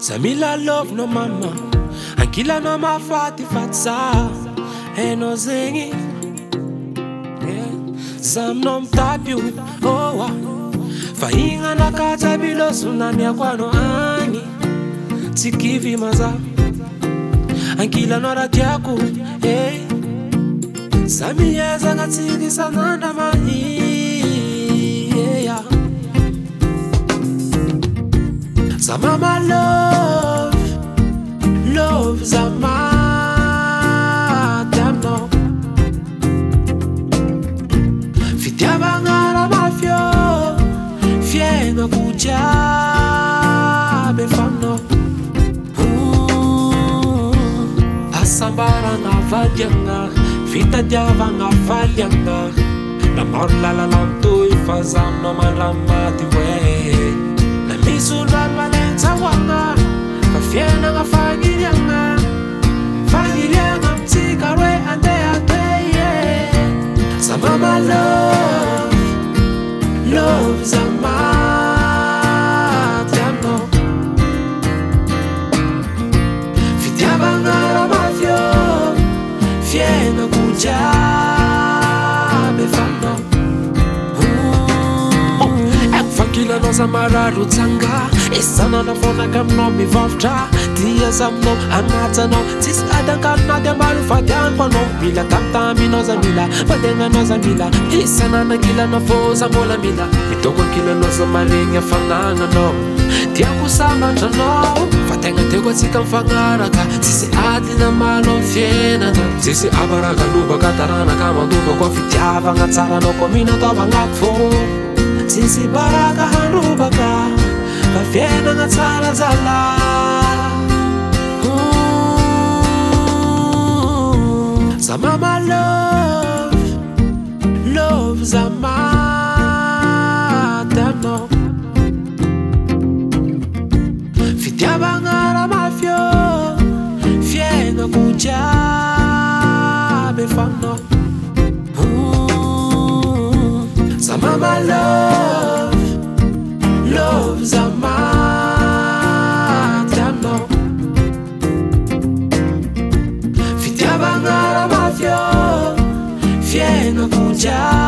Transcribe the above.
Samila love no mama, ankila no mafati fatsa, eno zengi, zam no mtapiu, owa, fainga na kata bilo sunani akwano ani, tikivi maza, ankila no ratiaku, Samiyeza ngatigi sananda mahi, Samama love Zama Damno Fitiaba ngara mafio Fienga kuja Befamno Asambara nga vadyanga Vita diava nga valyanga Na morla la lanto ifazam no malamati we Na misulwa malenza wanga Kafiena nga fagilianga Fagilianga mtikarwe ande ateye Samama love Zama Tiano Fitiaba ngara mafio Fiena kuja Befano Fakila no zamararu tanga Isana na fona kam no mi vavtra Tia zamno anata no Tis adanka na de maru fadyan pa no Mila tamta mi no zamila Fadenga no zamila Isana na kila no fo zamola mila Mitoko kila no zamaringa fananga no Tia kusama no Fadenga tegwa sika mfangaraka Sisi adi na malo fiena na Sisi abaraka luba katarana kama duba Kwa fitiava nga tsara no komina toba nga kfo Sisi baraka hanubaka Kafiena nga tsara zala Samama love Zama Damno Fitiaba ngara mafio Fienga kuja Befano Samama love Zama Damno Fitiaba ngara mafio Fienga kuja